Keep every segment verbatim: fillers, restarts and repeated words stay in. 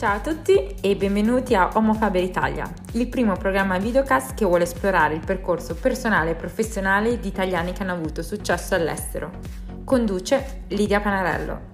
Ciao a tutti e benvenuti a Homo Faber Italia, il primo programma videocast che vuole esplorare il percorso personale e professionale di italiani che hanno avuto successo all'estero. Conduce Lidia Panarello.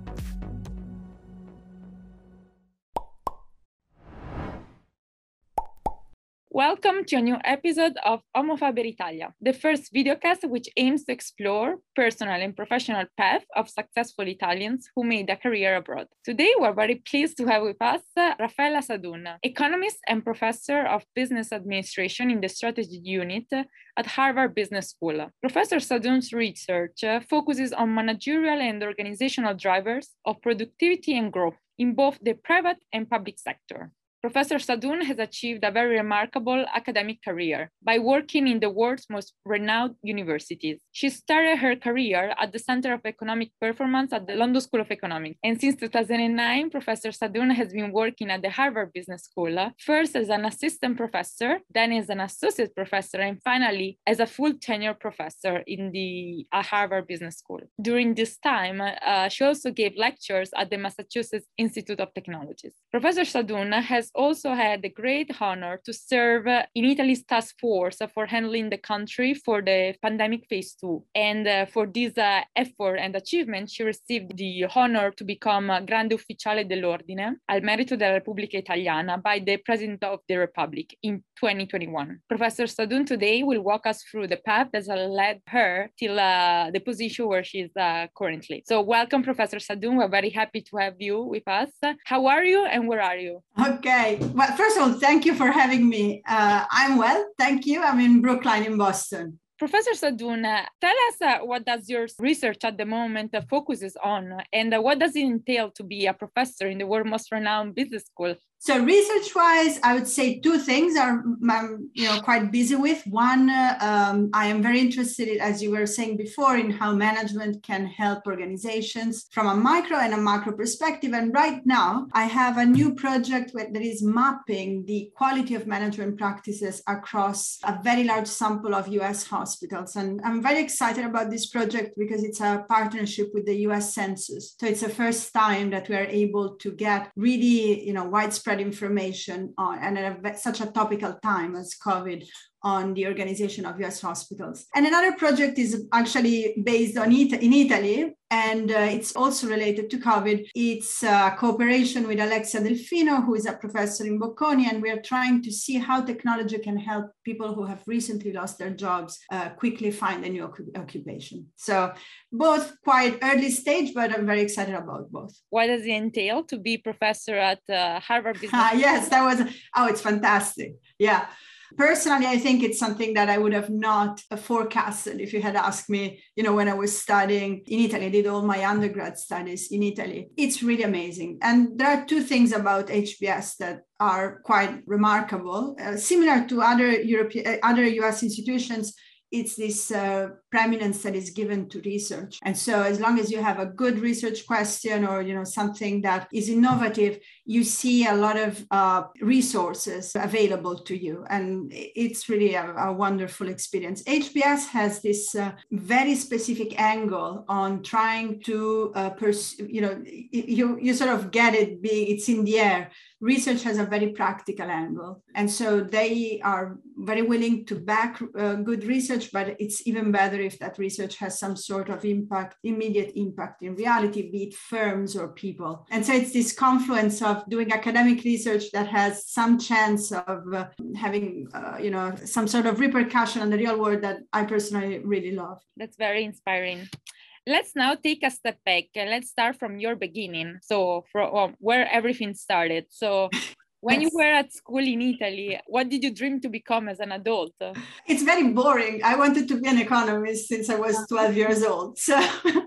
Welcome to a new episode of Homo Faber Italia, the first videocast which aims to explore personal and professional path of successful Italians who made a career abroad. Today, we're very pleased to have with us uh, Raffaella Sadun, economist and professor of business administration in the strategy unit uh, at Harvard Business School. Professor Sadun's research uh, focuses on managerial and organizational drivers of productivity and growth in both the private and public sector. Professor Sadun has achieved a very remarkable academic career by working in the world's most renowned universities. She started her career at the Center of Economic Performance at the London School of Economics. And since two thousand nine, Professor Sadun has been working at the Harvard Business School, first as an assistant professor, then as an associate professor, and finally as a full tenure professor in the uh, Harvard Business School. During this time, uh, she also gave lectures at the Massachusetts Institute of Technology. Professor Sadun has also had the great honor to serve in Italy's task force for handling the country for the pandemic phase two. And uh, for this uh, effort and achievement, she received the honor to become Grande Ufficiale dell'Ordine al Merito della Repubblica Italiana by the President of the Republic in twenty twenty-one. Professor Sadun today will walk us through the path that led her till uh, the position where she is uh, currently. So welcome, Professor Sadun. We're very happy to have you with us. How are you and where are you? Okay. Well, first of all, thank you for having me. Uh, I'm well, thank you. I'm in Brookline in Boston. Professor Sadun, uh, tell us uh, what does your research at the moment uh, focuses on, and uh, what does it entail to be a professor in the world's most renowned business school? So research-wise, I would say two things are I'm you know quite busy with. One, uh, um, I am very interested, in, as you were saying before, in how management can help organizations from a micro and a macro perspective. And right now, I have a new project where, that is mapping the quality of management practices across a very large sample of U S hospitals. And I'm very excited about this project because it's a partnership with the U S Census. So it's the first time that we are able to get really you know widespread information on and at a, such a topical time as COVID on the organization of U S hospitals. And another project is actually based on it in Italy, and uh, it's also related to COVID. It's a cooperation with Alexia Delfino, who is a professor in Bocconi, and we are trying to see how technology can help people who have recently lost their jobs uh, quickly find a new occupation. So both quite early stage, but I'm very excited about both. What does it entail to be professor at uh, Harvard Business School? Yes, that was, oh, it's fantastic. Yeah. Personally, I think it's something that I would have not forecasted if you had asked me, you know, when I was studying in Italy. I did all my undergrad studies in Italy. It's really amazing. And there are two things about H B S that are quite remarkable. Uh, similar to other European, uh, other U S institutions, it's this uh, preeminence that is given to research. And so as long as you have a good research question or, you know, something that is innovative, you see a lot of uh, resources available to you. And it's really a, a wonderful experience. H B S has this uh, very specific angle on trying to, uh, pers- you know, you, you sort of get it being, it's in the air. Research has a very practical angle. And so they are very willing to back uh, good research, but it's even better if that research has some sort of impact, immediate impact in reality, be it firms or people. And so it's this confluence of doing academic research that has some chance of uh, having, uh, you know, some sort of repercussion on the real world that I personally really love. That's very inspiring. Let's now take a step back and let's start from your beginning. So from well, where everything started. So when yes. you were at school in Italy, what did you dream to become as an adult? It's very boring. I wanted to be an economist since I was twelve years old. So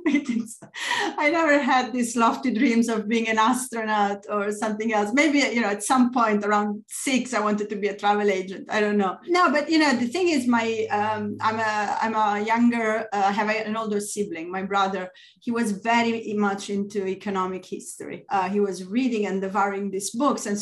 I never had these lofty dreams of being an astronaut or something else. Maybe, you know, at some point around six, I wanted to be a travel agent. I don't know. No, but, you know, the thing is my, um, I'm a, I'm a younger, uh, I have an older sibling, my brother. He was very much into economic history. Uh, he was reading and devouring these books. And so it's true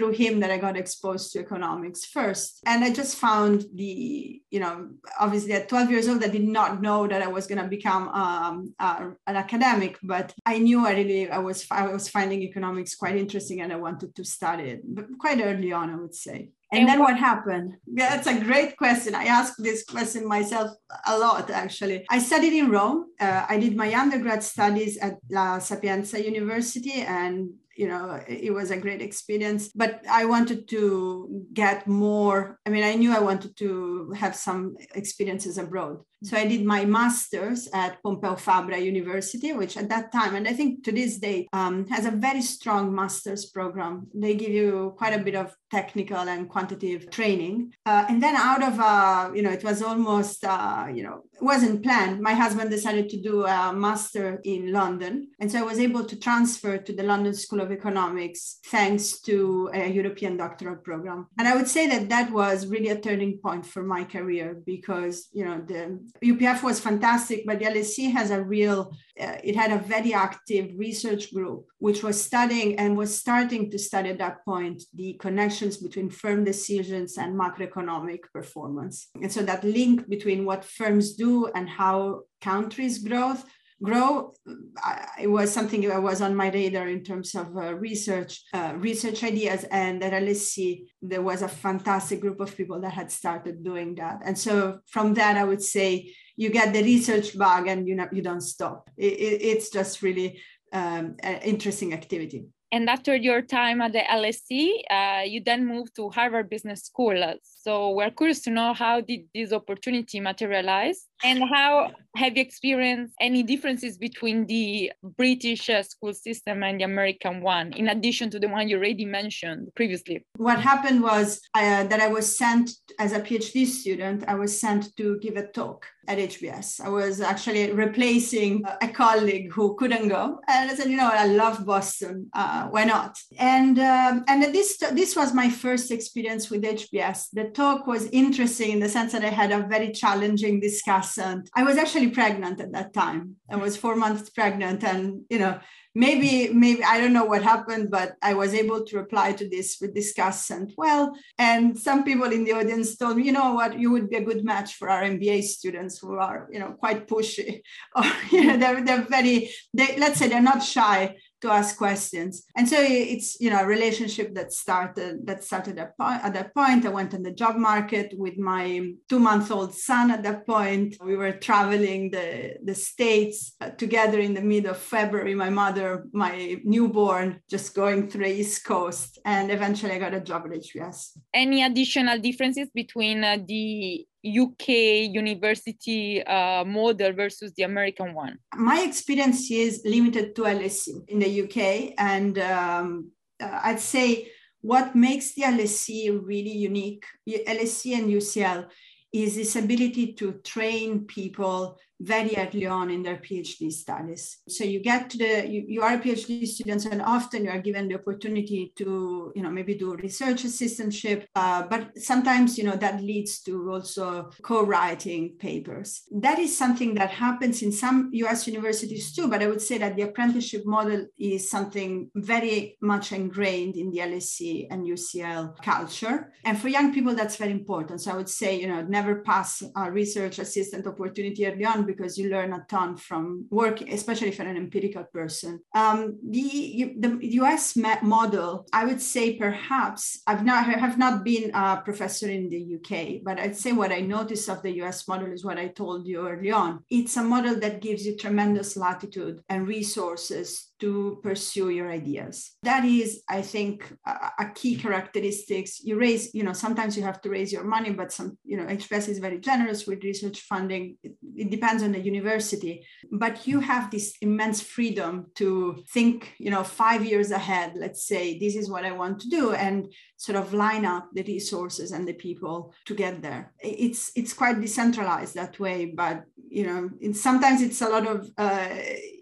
through him that I got exposed to economics first. And I just found the, you know, obviously at twelve years old, I did not know that I was going to become um, uh, an academic, but I knew I really, I was, I was finding economics quite interesting and I wanted to study it, but quite early on, I would say. And, and then what happened? Yeah, that's a great question. I asked this question myself a lot, actually. I studied in Rome. Uh, I did my undergrad studies at La Sapienza University, and you know, it was a great experience, but I wanted to get more. I mean, I knew I wanted to have some experiences abroad. So I did my master's at Pompeu Fabra University, which at that time, and I think to this day, um, has a very strong master's program. They give you quite a bit of technical and quantitative training. Uh, and then out of, uh, you know, it was almost, uh, you know, it wasn't planned. My husband decided to do a master in London. And so I was able to transfer to the London School of Economics thanks to a European doctoral program. And I would say that that was really a turning point for my career because, you know, the U P F was fantastic, but the L S E has a real, uh, it had a very active research group, which was studying and was starting to study at that point the connections between firm decisions and macroeconomic performance. And so that link between what firms do and how countries grow, grow, uh, it was something that was on my radar in terms of uh, research, uh, research ideas. And at L S E, there was a fantastic group of people that had started doing that. And so from that, I would say you get the research bug and you know, you don't stop. It, it, it's just really um, an interesting activity. And after your time at the L S E, uh, you then moved to Harvard Business School. So we're curious to know, how did this opportunity materialize? And how have you experienced any differences between the British uh, school system and the American one, in addition to the one you already mentioned previously? What happened was uh, that I was sent, as a PhD student, I was sent to give a talk at H B S. I was actually replacing a colleague who couldn't go. And I said, you know what, I love Boston. Uh, why not? And um, and this, this was my first experience with H B S. The talk was interesting in the sense that I had a very challenging discussant. I was actually pregnant at that time. I was four months pregnant, and you know, maybe, maybe I don't know what happened, but I was able to reply to this with discussant well. And some people in the audience told me, you know what, you would be a good match for our M B A students who are, you know, quite pushy, or you know, they're they're very, they, let's say they're not shy to ask questions. And so it's, you know, a relationship that started, that started at, at that point. I went on the job market with my two-month-old son at that point. We were traveling the, the States uh, together in the middle of February, my mother, my newborn, just going through the East Coast. And eventually I got a job at H B S. Any additional differences between uh, the U K university uh, model versus the American one? My experience is limited to L S E in the U K. And um, uh, I'd say what makes the L S E really unique, L S E and U C L, is this ability to train people very early on in their PhD studies. So you get to the, you, you are a PhD student, and often you are given the opportunity to, you know, maybe do research assistantship, uh, but sometimes, you know, that leads to also co-writing papers. That is something that happens in some U S universities too, but I would say that the apprenticeship model is something very much ingrained in the L S E and U C L culture. And for young people, that's very important. So I would say, you know, never pass a research assistant opportunity early on, because you learn a ton from working, especially if you're an empirical person. Um, the, the U S model, I would say perhaps, I've not, I have not been a professor in the U K, but I'd say what I noticed of the U S model is what I told you early on. It's a model that gives you tremendous latitude and resources to pursue your ideas. That is, I think, a, a key characteristics. You raise, you know, sometimes you have to raise your money, but some, you know, H B S is very generous with research funding. It, it depends on the university, but you have this immense freedom to think, you know, five years ahead, let's say, this is what I want to do, and sort of line up the resources and the people to get there. It's, it's quite decentralized that way, but, you know, it, sometimes it's a lot of, uh,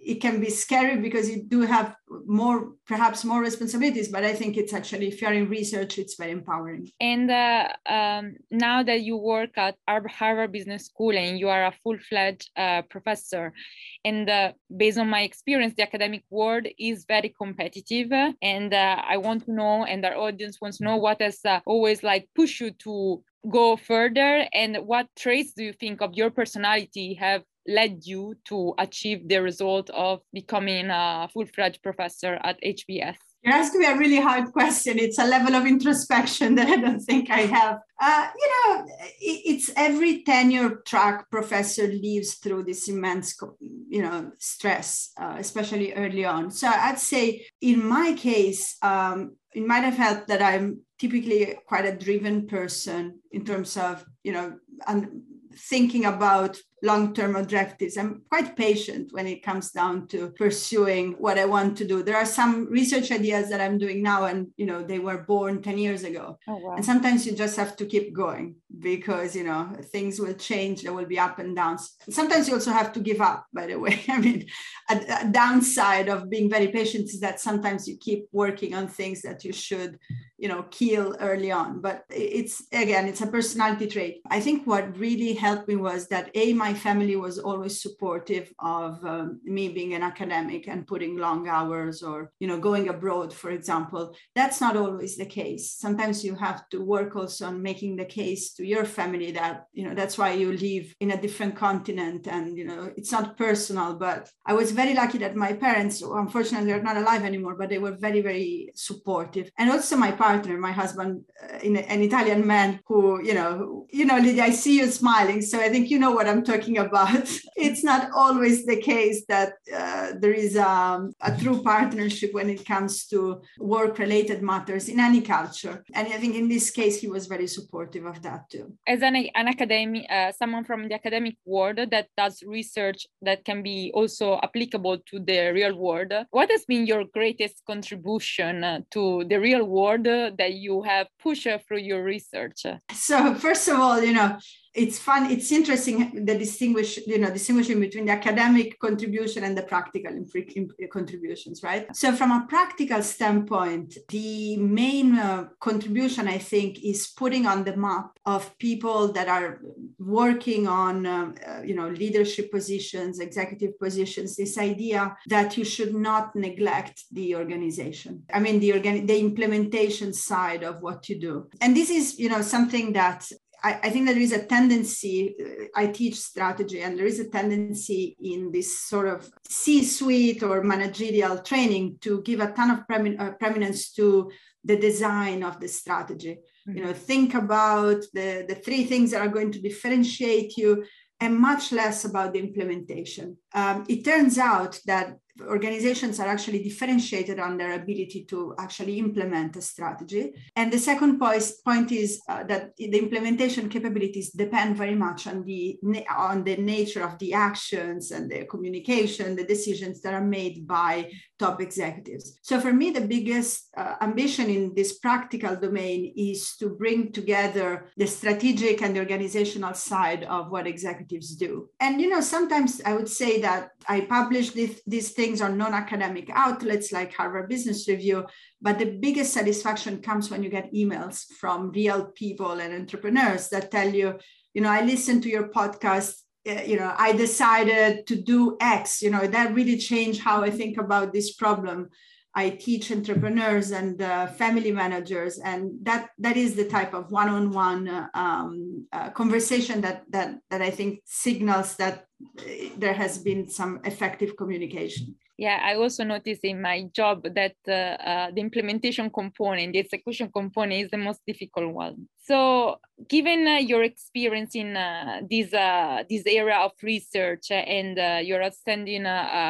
it can be scary because you do have more, perhaps more responsibilities, but I think it's actually, if you're in research, it's very empowering. And uh, um, now that you work at Harvard Business School and you are a full-fledged uh, professor, and uh, based on my experience, the academic world is very competitive. And uh, I want to know, and our audience wants to know, what has uh, always like pushed you to go further, and what traits do you think of your personality have led you to achieve the result of becoming a full-fledged professor at H B S? You're asking me a really hard question. It's a level of introspection that I don't think I have. Uh, you know, it's every tenure track professor lives through this immense, you know, stress, uh, especially early on. So I'd say in my case, um, it might have helped that I'm typically quite a driven person in terms of, you know, and thinking about long-term objectives. I'm quite patient when it comes down to pursuing what I want to do. There are some research ideas that I'm doing now, and you know, they were born ten years ago. Oh, wow. And sometimes you just have to keep going because, you know, things will change. There will be up and downs. Sometimes you also have to give up, by the way. I mean, a, a downside of being very patient is that sometimes you keep working on things that you should, you know, kill early on. But it's, again, it's a personality trait. I think what really helped me was that, A, my family was always supportive of um, me being an academic and putting long hours or, you know, going abroad, for example. That's not always the case. Sometimes you have to work also on making the case to your family that, you know, that's why you live in a different continent and, you know, it's not personal. But I was very lucky that my parents, unfortunately, they're not alive anymore, but they were very, very supportive. And also my partner, my husband, uh, in a, an Italian man who, you know, you know, Lydia, I see you smiling. So I think you know what I'm talking about. It's not always the case that uh, there is um, a true partnership when it comes to work-related matters in any culture. And I think in this case, he was very supportive of that too. As an, an academic, uh, someone from the academic world that does research that can be also applicable to the real world, what has been your greatest contribution uh, to the real world uh, that you have pushed uh, through your research? So first of all, you know, it's fun. It's interesting the distinguish, you know, distinguishing between the academic contribution and the practical contributions, right? So from a practical standpoint, the main uh, contribution, I think, is putting on the map of people that are working on, um, uh, you know, leadership positions, executive positions, this idea that you should not neglect the organization. I mean, the organ- the implementation side of what you do. And this is, you know, something that I think that there is a tendency, I teach strategy, and there is a tendency in this sort of C-suite or managerial training to give a ton of preeminence to the design of the strategy. Mm-hmm. You know, think about the, the three things that are going to differentiate you, and much less about the implementation. Um, it turns out that organizations are actually differentiated on their ability to actually implement a strategy. And the second point, point is uh, that the implementation capabilities depend very much on the, on the nature of the actions and the communication, the decisions that are made by top executives. So for me, the biggest uh, ambition in this practical domain is to bring together the strategic and the organizational side of what executives do. And, you know, sometimes I would say that I publish this, these things on non-academic outlets like Harvard Business Review, but the biggest satisfaction comes when you get emails from real people and entrepreneurs that tell you, you know, I listened to your podcast, uh, you know, I decided to do X, you know, that really changed how I think about this problem. I teach entrepreneurs and uh, family managers, and that that is the type of one-on-one uh, um, uh, conversation that that that I think signals that there has been some effective communication. Yeah, I also noticed in my job that uh, uh, the implementation component, the execution component is the most difficult one. So given uh, your experience in uh, this, uh, this area of research and uh, your outstanding uh,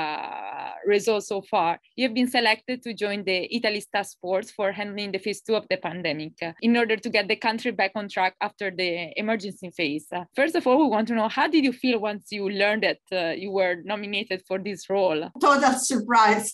uh, results so far, you have been selected to join the Italy's task force for handling the phase two of the pandemic uh, in order to get the country back on track after the emergency phase. Uh, first of all, we want to know, how did you feel once you learned that uh, you were nominated for this role? Total surprise.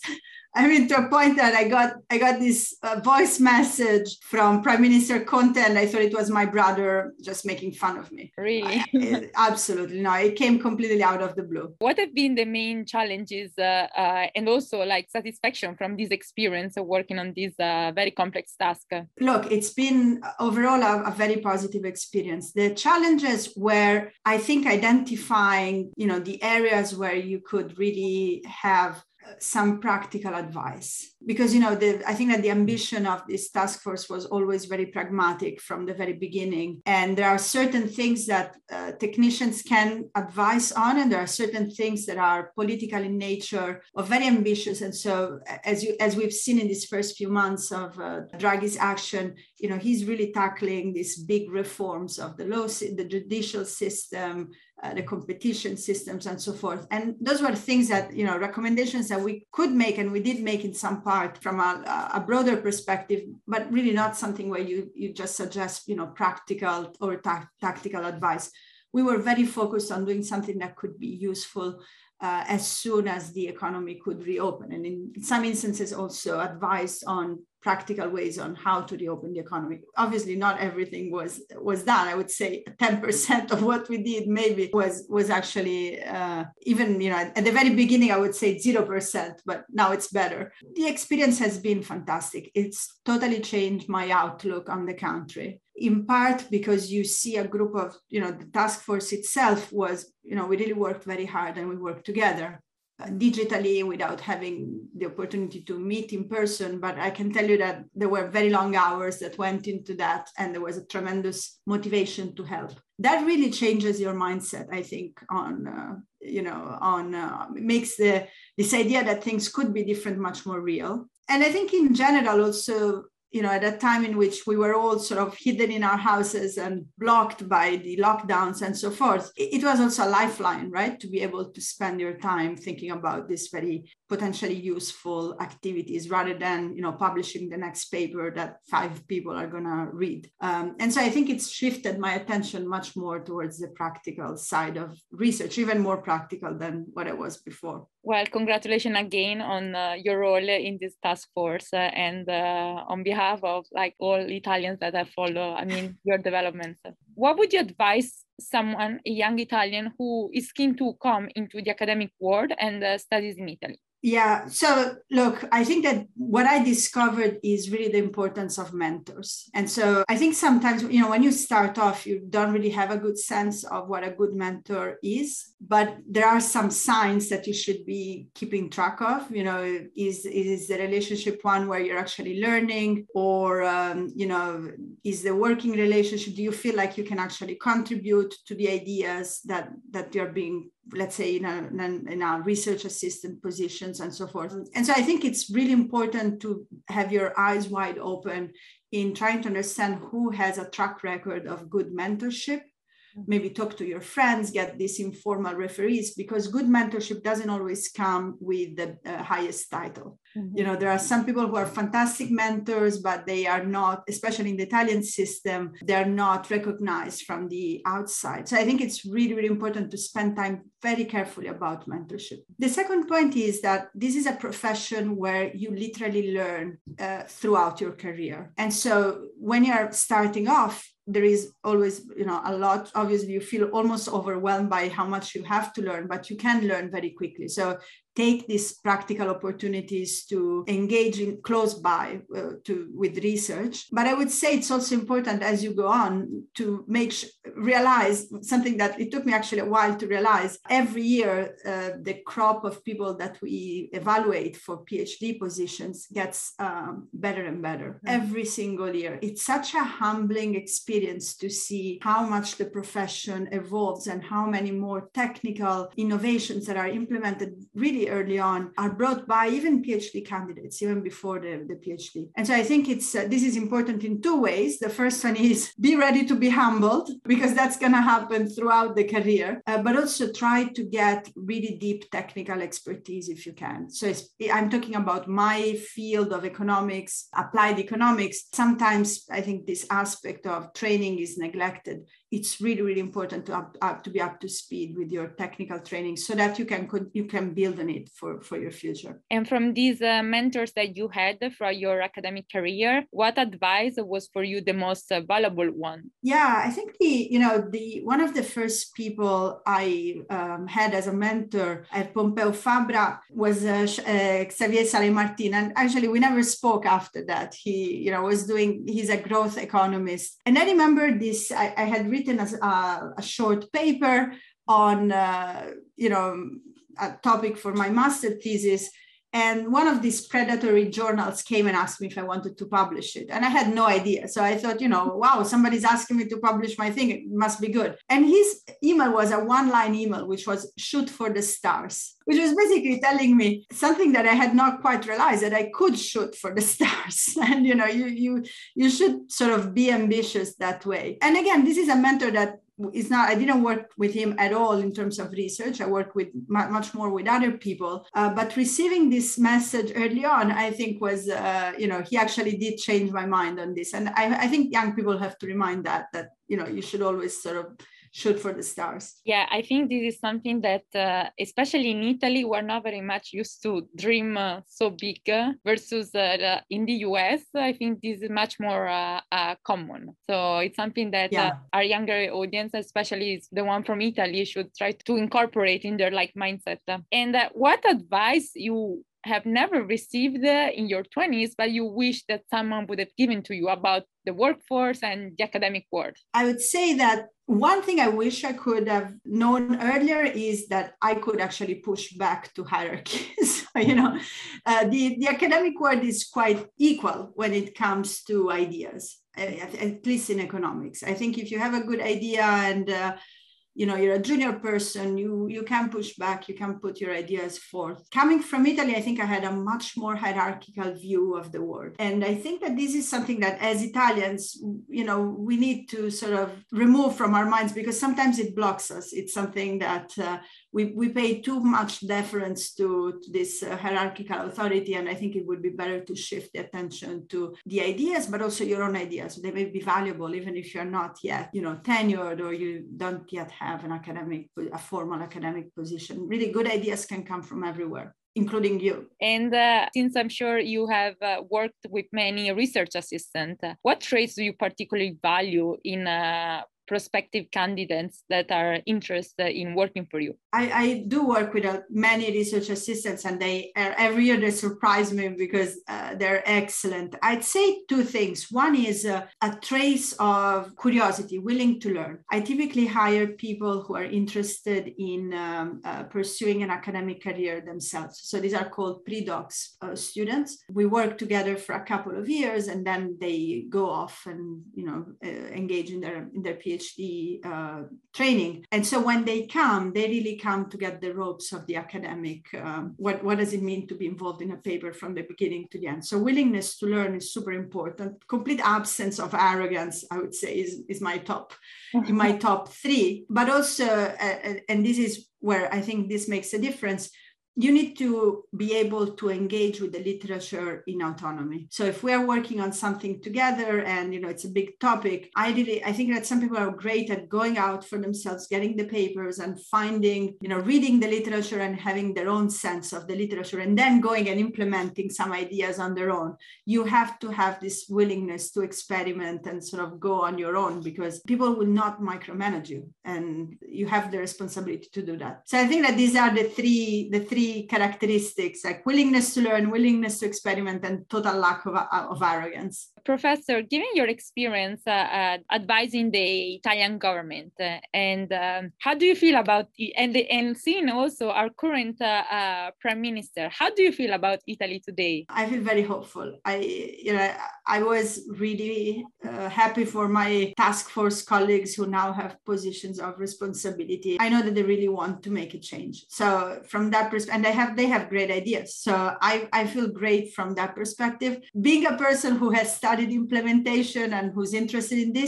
I mean, to a point that I got I got this uh, voice message from Prime Minister Conte, and I thought it was my brother just making fun of me. Really? I, absolutely. No, it came completely out of the blue. What have been the main challenges uh, uh, and also like satisfaction from this experience of working on this uh, very complex task? Look, it's been overall a, a very positive experience. The challenges were, I think, identifying, you know, the areas where you could really have some practical advice, because you know the, I think that the ambition of this task force was always very pragmatic from the very beginning, and there are certain things that uh, technicians can advise on, and there are certain things that are political in nature or very ambitious. And so as you as we've seen in these first few months of uh, Draghi's action, you know, he's really tackling these big reforms of the law, the judicial system, Uh, the competition systems, and so forth. And those were things that, you know, recommendations that we could make, and we did make in some part from a, a broader perspective, but really not something where you, you just suggest, you know, practical or ta- tactical advice. We were very focused on doing something that could be useful uh, as soon as the economy could reopen. And in some instances also advised on practical ways on how to reopen the economy. Obviously, not everything was was done. I would say ten percent of what we did maybe was was actually uh, even, you know, at the very beginning, I would say zero percent, but now it's better. The experience has been fantastic. It's totally changed my outlook on the country, in part because you see a group of, you know, the task force itself was, you know, we really worked very hard and we worked together. Uh, digitally without having the opportunity to meet in person. But I can tell you that there were very long hours that went into that, and there was a tremendous motivation to help. That really changes your mindset, I think, on, uh, you know, on, uh, makes the, this idea that things could be different much more real. And I think in general also, you know, at a time in which we were all sort of hidden in our houses and blocked by the lockdowns and so forth, it was also a lifeline, right? To be able to spend your time thinking about these very potentially useful activities rather than, you know, publishing the next paper that five people are going to read. Um, and so I think it's shifted my attention much more towards the practical side of research, even more practical than what it was before. Well, congratulations again on uh, your role in this task force uh, and uh, on behalf of like all Italians that have followed, I mean, your developments. What would you advise someone, a young Italian who is keen to come into the academic world and uh, studies in Italy? Yeah, so look, I think that what I discovered is really the importance of mentors. And so I think sometimes, you know, when you start off, you don't really have a good sense of what a good mentor is, but there are some signs that you should be keeping track of. You know, is, is the relationship one where you're actually learning, or, um, you know, is the working relationship, do you feel like you can actually contribute to the ideas that, that you're being, let's say, in a, in a research assistant positions and so forth. And so I think it's really important to have your eyes wide open in trying to understand who has a track record of good mentorship. Maybe talk to your friends, get these informal referees, because good mentorship doesn't always come with the uh, highest title. Mm-hmm. You know, there are some people who are fantastic mentors, but they are not, especially in the Italian system, they're not recognized from the outside. So I think it's really, really important to spend time very carefully about mentorship. The second point is that this is a profession where you literally learn uh, throughout your career. And so when you're starting off, there is always, you know, a lot. Obviously, you feel almost overwhelmed by how much you have to learn, but you can learn very quickly. So take these practical opportunities to engage in close by uh, to with research. But I would say it's also important as you go on to make sh- realize something that it took me actually a while to realize. Every year, uh, the crop of people that we evaluate for PhD positions gets um, better and better mm-hmm. every single year. It's such a humbling experience to see how much the profession evolves and how many more technical innovations that are implemented really early on are brought by even PhD candidates, even before the, the PhD. And so I think it's uh, this is important in two ways. The first one is be ready to be humbled, because that's going to happen throughout the career, uh, but also try to get really deep technical expertise if you can. So it's, I'm talking about my field of economics, applied economics. Sometimes I think this aspect of training is neglected. It's really, really important to, up, up, to be up to speed with your technical training so that you can you can build on it. it for, for your future. And from these uh, mentors that you had throughout your academic career, what advice was for you the most uh, valuable one? Yeah, I think the, you know, the one of the first people I um, had as a mentor at Pompeu Fabra was uh, uh, Xavier Saleh-Martin. And actually, we never spoke after that. He, you know, was doing, he's a growth economist. And I remember this, I, I had written a, a, a short paper on, uh, you know, a topic for my master thesis. And one of these predatory journals came and asked me if I wanted to publish it. And I had no idea. So I thought, you know, wow, somebody's asking me to publish my thing. It must be good. And his email was a one-line email, which was shoot for the stars, which was basically telling me something that I had not quite realized, that I could shoot for the stars. And, you know, you, you, you should sort of be ambitious that way. And again, this is a mentor that It's not, I didn't work with him at all in terms of research. I worked with much more with other people. Uh, but receiving this message early on, I think was, uh, you know, he actually did change my mind on this. And I, I think young people have to remind that, that, you know, you should always sort of shoot for the stars. Yeah, I think this is something that, uh, especially in Italy, we're not very much used to dream uh, so big uh, versus uh, in the U S. I think this is much more uh, uh, common. So it's something that yeah. uh, our younger audience, especially the one from Italy, should try to incorporate in their like mindset. And uh, what advice you have never received uh, in your twenties, but you wish that someone would have given to you about the workforce and the academic world? I would say that one thing I wish I could have known earlier is that I could actually push back to hierarchies. you know, uh, the, the academic world is quite equal when it comes to ideas, at, at least in economics. I think if you have a good idea and uh, you know, you're a junior person, you, you can push back, you can put your ideas forth. Coming from Italy, I think I had a much more hierarchical view of the world. And I think that this is something that as Italians, you know, we need to sort of remove from our minds, because sometimes it blocks us. It's something that uh, we, we pay too much deference to, to this uh, hierarchical authority. And I think it would be better to shift the attention to the ideas, but also your own ideas. They may be valuable, even if you're not yet, you know, tenured or you don't yet have have an academic, a formal academic position. Really good ideas can come from everywhere, including you. And uh, since I'm sure you have uh, worked with many research assistants, uh, what traits do you particularly value in uh, prospective candidates that are interested in working for you? I, I do work with uh, many research assistants, and they uh, every year they surprise me because uh, they're excellent. I'd say two things. One is uh, a trace of curiosity, willing to learn. I typically hire people who are interested in um, uh, pursuing an academic career themselves. So these are called pre-docs uh, students. We work together for a couple of years, and then they go off and you know uh, engage in their in their PhD uh, training. And so when they come, they really come to get the ropes of the academic. Um, what, what does it mean to be involved in a paper from the beginning to the end? So willingness to learn is super important. Complete absence of arrogance, I would say, is, is my top, in my top three. But also, uh, and this is where I think this makes a difference, you need to be able to engage with the literature in autonomy. So if we are working on something together and, you know, it's a big topic, I really, I think that some people are great at going out for themselves, getting the papers and finding, you know, reading the literature and having their own sense of the literature and then going and implementing some ideas on their own. You have to have this willingness to experiment and sort of go on your own, because people will not micromanage you and you have the responsibility to do that. So I think that these are the three, the three characteristics, like willingness to learn, willingness to experiment, and total lack of, of arrogance. Professor, given your experience uh, uh, advising the Italian government, uh, and um, how do you feel about, and, the, and seeing also our current uh, uh, Prime Minister, how do you feel about Italy today? I feel very hopeful. I, you know, I was really uh, happy for my task force colleagues who now have positions of responsibility. I know that they really want to make a change. So from that perspective, and they have they have great ideas. So I, I feel great from that perspective. Being a person who has studied implementation and who's interested in this,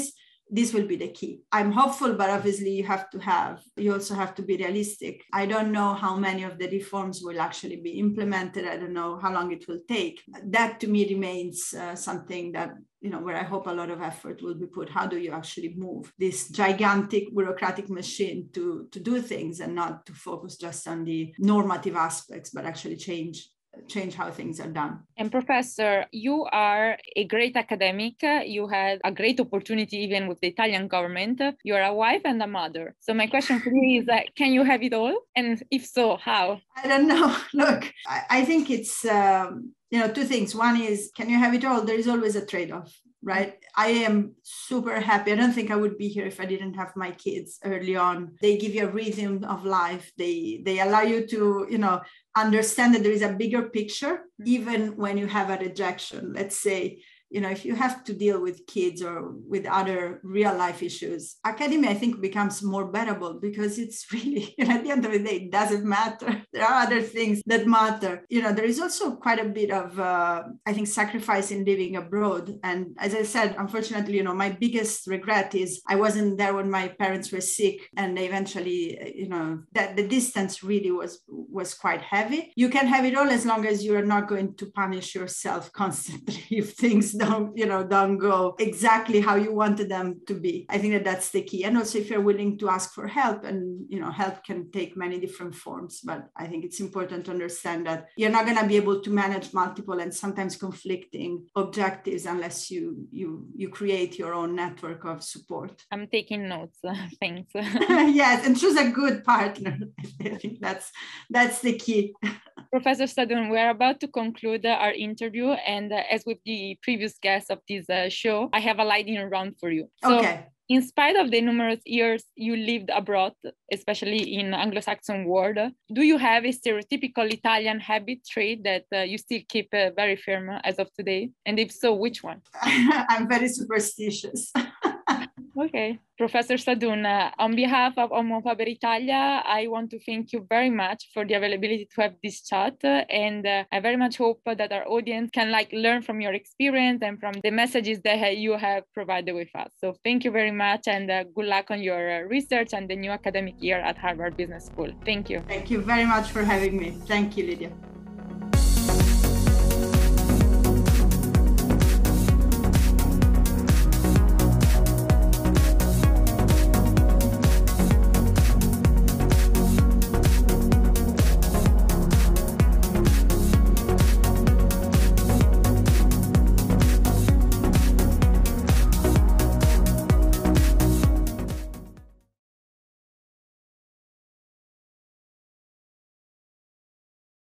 this will be the key. I'm hopeful, but obviously you have to have, you also have to be realistic. I don't know how many of the reforms will actually be implemented. I don't know how long it will take. That to me remains uh, something that, you know, where I hope a lot of effort will be put. How do you actually move this gigantic bureaucratic machine to, to do things and not to focus just on the normative aspects, but actually change change how things are done. And Professor, you are a great academic. You had a great opportunity even with the Italian government. You are a wife and a mother. So my question for you is, uh, can you have it all? And if so, how? I don't know. Look, I, I think it's, um, you know, two things. One is, can you have it all? There is always a trade-off, right? I am super happy. I don't think I would be here if I didn't have my kids early on. They give you a rhythm of life. They, they allow you to, you know, understand that there is a bigger picture, even when you have a rejection. Let's say, you know, if you have to deal with kids or with other real life issues, academia, I think, becomes more bearable because it's really, you know, at the end of the day, it doesn't matter. There are other things that matter. You know, there is also quite a bit of, uh, I think, sacrifice in living abroad. And as I said, unfortunately, you know, my biggest regret is I wasn't there when my parents were sick, and they eventually, you know, that the distance really was, was quite heavy. You can have it all as long as you are not going to punish yourself constantly if things don't, you know, don't go exactly how you wanted them to be. I think that that's the key. And also if you're willing to ask for help, and, you know, help can take many different forms, but I think it's important to understand that you're not going to be able to manage multiple and sometimes conflicting objectives unless you, you, you create your own network of support. I'm taking notes. Thanks. Yes, and choose a good partner. I think that's, that's the key. Professor Sadoun, we're about to conclude our interview, and uh, as with the previous guests of this uh, show, I have a lightning round for you. So, okay. In spite of the numerous years you lived abroad, especially in Anglo-Saxon world, do you have a stereotypical Italian habit trait that uh, you still keep uh, very firm as of today? And if so, which one? I'm very superstitious. Okay. Professor Sadoun, uh, on behalf of Homo Faber Italia, I want to thank you very much for the availability to have this chat. Uh, and uh, I very much hope that our audience can like learn from your experience and from the messages that you have provided with us. So thank you very much, and uh, good luck on your uh, research and the new academic year at Harvard Business School. Thank you. Thank you very much for having me. Thank you, Lydia.